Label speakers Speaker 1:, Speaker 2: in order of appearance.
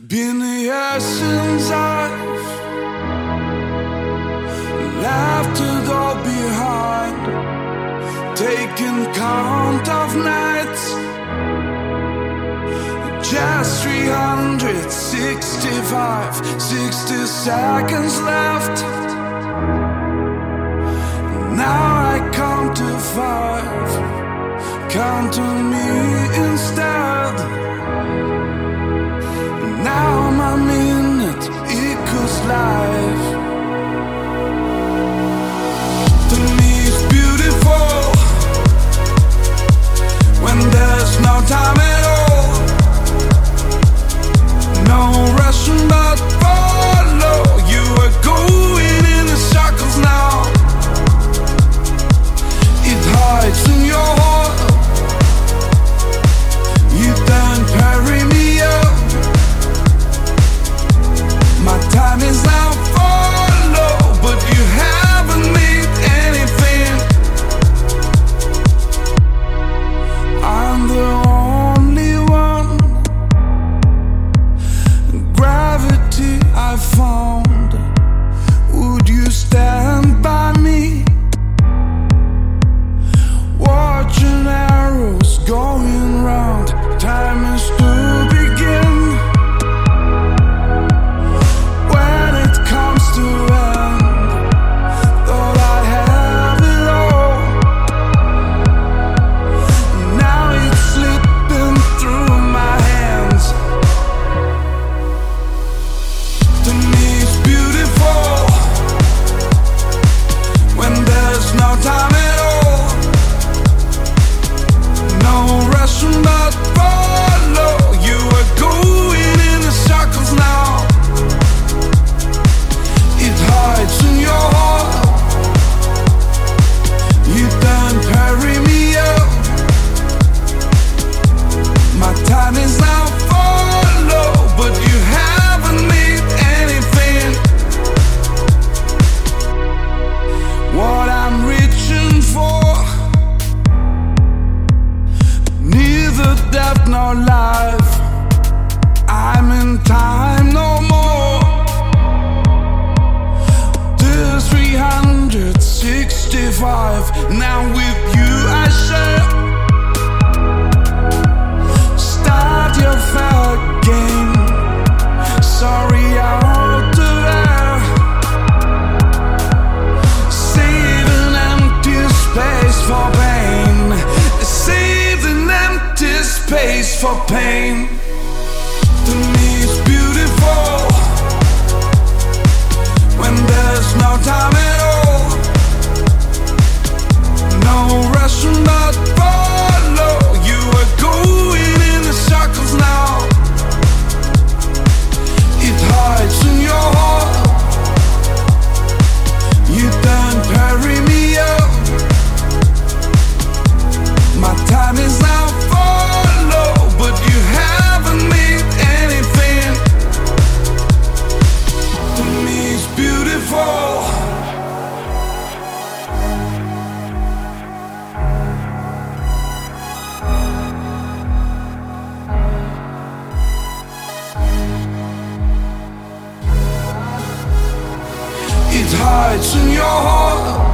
Speaker 1: Been a year since I've left to go behind, taking count of nights. Just 365, 60 seconds left. Now I count to 5, count to me instead. Now my minute equals life. To me it's beautiful when there's no time at all. No rushing but follow. You are going in the circles now. It hides in your heart. You don't carry me up. My time is now follow, but you haven't made anything. I'm the only one. Gravity I found. Would you stand by me? Watching arrows going round. Time is to begin. When it comes to end, thought I have it all. Now it's slipping through my hands. To me it's beautiful when there's no time at all. No rushing but follow. You are going in the circles now. It hides in your heart. You don't carry me up. My time is now follow, but you haven't made anything. What I'm reaching for, neither death nor life. I'm in time no more. There's 365. Now with you I share. Start your fair game. Sorry out there. Save an empty space for pain. Save an empty space for pain. To me it's beautiful when there's no time at all. No rushing but follow. You are going in the circles now. It hides in your heart. You don't carry me up. My time is now follow, but you haven't made anything. To me it's beautiful. It hides in your heart.